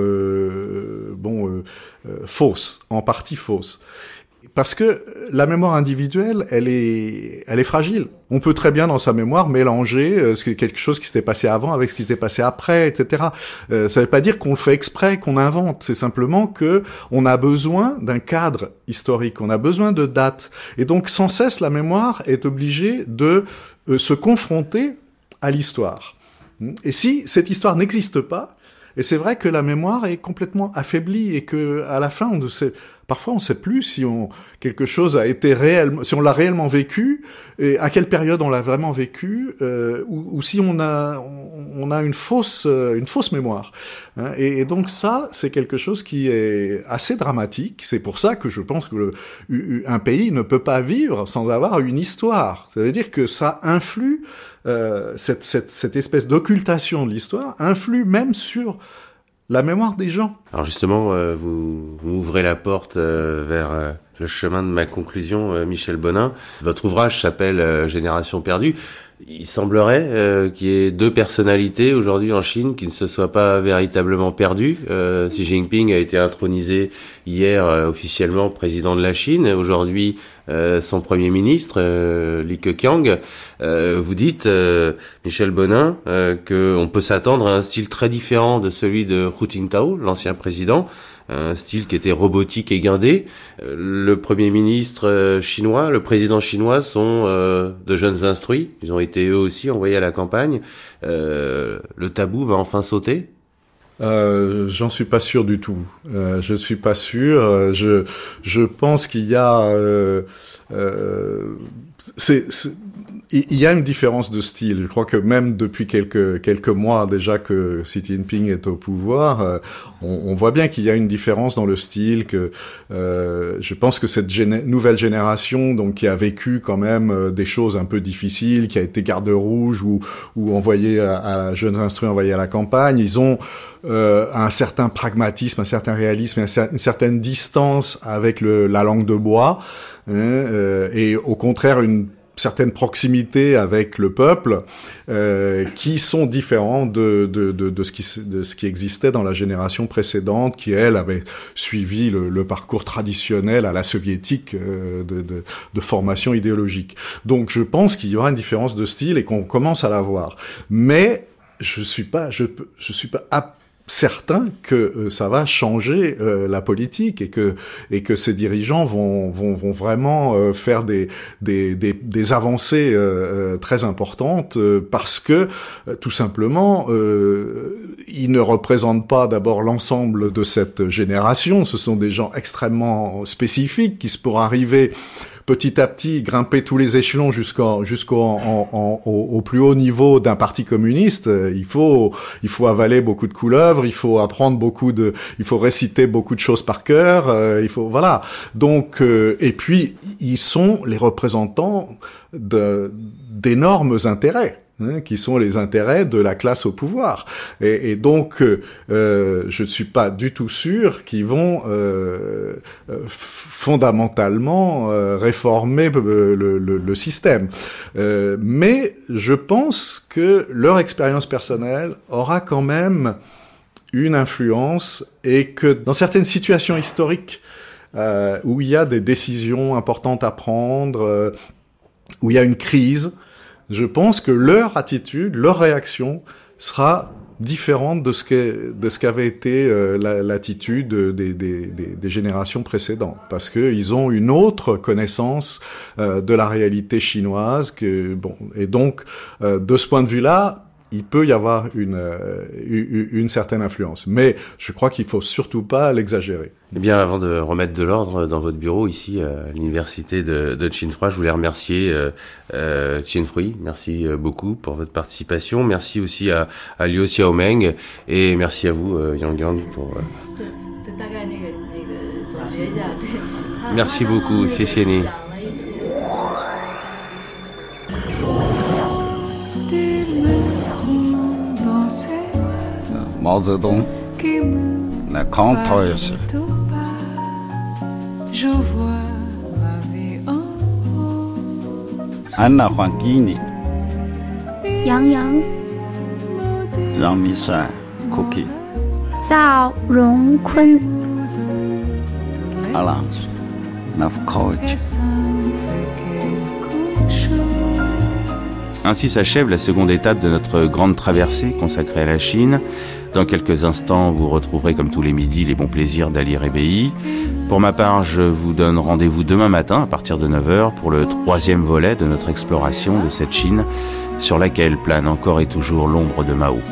B: fausses, en partie fausses. Parce que la mémoire individuelle, elle est fragile. On peut très bien dans sa mémoire mélanger quelque chose qui s'était passé avant avec ce qui s'était passé après, etc. Ça veut pas dire qu'on le fait exprès, qu'on invente. C'est simplement que on a besoin d'un cadre historique, on a besoin de dates. Et donc sans cesse, la mémoire est obligée de se confronter à l'histoire. Et si cette histoire n'existe pas, et c'est vrai que la mémoire est complètement affaiblie et que à la fin on ne sait, parfois on ne sait plus si quelque chose a été réellement, si on l'a réellement vécu et à quelle période on l'a vraiment vécu, ou si on a une fausse mémoire. Hein, et donc ça, c'est quelque chose qui est assez dramatique. C'est pour ça que je pense que un pays ne peut pas vivre sans avoir une histoire. Ça veut dire que ça influe. Cette espèce d'occultation de l'histoire influe même sur la mémoire des gens.
A: Alors justement, vous ouvrez la porte vers le chemin de ma conclusion, Michel Bonin. Votre ouvrage s'appelle Génération perdue. Il semblerait qu'il y ait deux personnalités aujourd'hui en Chine qui ne se soient pas véritablement perdues. Xi Jinping a été intronisé hier officiellement président de la Chine. Aujourd'hui, son premier ministre, Li Keqiang. Vous dites, Michel Bonin, qu'on peut s'attendre à un style très différent de celui de Hu Jintao, l'ancien président. Un style qui était robotique et guindé. Le Premier ministre chinois, le président chinois sont de jeunes instruits. Ils ont été eux aussi envoyés à la campagne. Le tabou va enfin sauter ?
B: J'en suis pas sûr du tout. Je suis pas sûr. Je pense qu'il y a... il y a une différence de style. Je crois que même depuis quelques mois déjà que Xi Jinping est au pouvoir, on voit bien qu'il y a une différence dans le style. Que je pense que cette nouvelle génération, donc qui a vécu quand même des choses un peu difficiles, qui a été garde rouge ou envoyé à jeunes instruits envoyés à la campagne, ils ont un certain pragmatisme, un certain réalisme, une certaine distance avec la langue de bois, et au contraire une certaines proximités avec le peuple qui sont différents de ce qui existait dans la génération précédente, qui elle avait suivi le parcours traditionnel à la soviétique de formation idéologique. Donc je pense qu'il y aura une différence de style et qu'on commence à la voir. Mais je suis pas certain que ça va changer la politique et que ces dirigeants vont vraiment faire des avancées très importantes parce que tout simplement ils ne représentent pas d'abord l'ensemble de cette génération. Ce sont des gens extrêmement spécifiques qui, pour arriver petit à petit grimper tous les échelons jusqu'au plus haut niveau d'un parti communiste, il faut avaler beaucoup de couleuvres, il faut apprendre il faut réciter beaucoup de choses par cœur, voilà. Donc et puis ils sont les représentants d'énormes intérêts, qui sont les intérêts de la classe au pouvoir. Et donc, je ne suis pas du tout sûr qu'ils vont fondamentalement réformer le système. Mais je pense que leur expérience personnelle aura quand même une influence et que dans certaines situations historiques où il y a des décisions importantes à prendre, où il y a une crise, je pense que leur attitude, leur réaction sera différente de ce qu'avait été l'attitude des générations précédentes, parce que ils ont une autre connaissance de la réalité chinoise et donc de ce point de vue-là, il peut y avoir une certaine influence, mais je crois qu'il faut surtout pas l'exagérer.
A: Eh bien, avant de remettre de l'ordre dans votre bureau ici à l'université de Tsinghua, je voulais remercier Qianfrui. Merci beaucoup pour votre participation. Merci aussi à Liu Xiaomeng et merci à vous Yang pour. Merci beaucoup,谢谢你.
G: 毛泽东来抗讨也是。安娜黄给你。
H: 杨洋。
G: 让米山 Cookie。
H: 赵荣坤。
G: 阿郎 Navkovich。
A: Ainsi s'achève la seconde étape de notre grande traversée consacrée à la Chine. Dans quelques instants, vous retrouverez comme tous les midis les bons plaisirs d'Ali Rebéi. Pour ma part, je vous donne rendez-vous demain matin à partir de 9h pour le 3e volet de notre exploration de cette Chine sur laquelle plane encore et toujours l'ombre de Mao.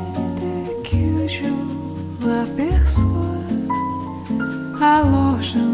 I: Alors je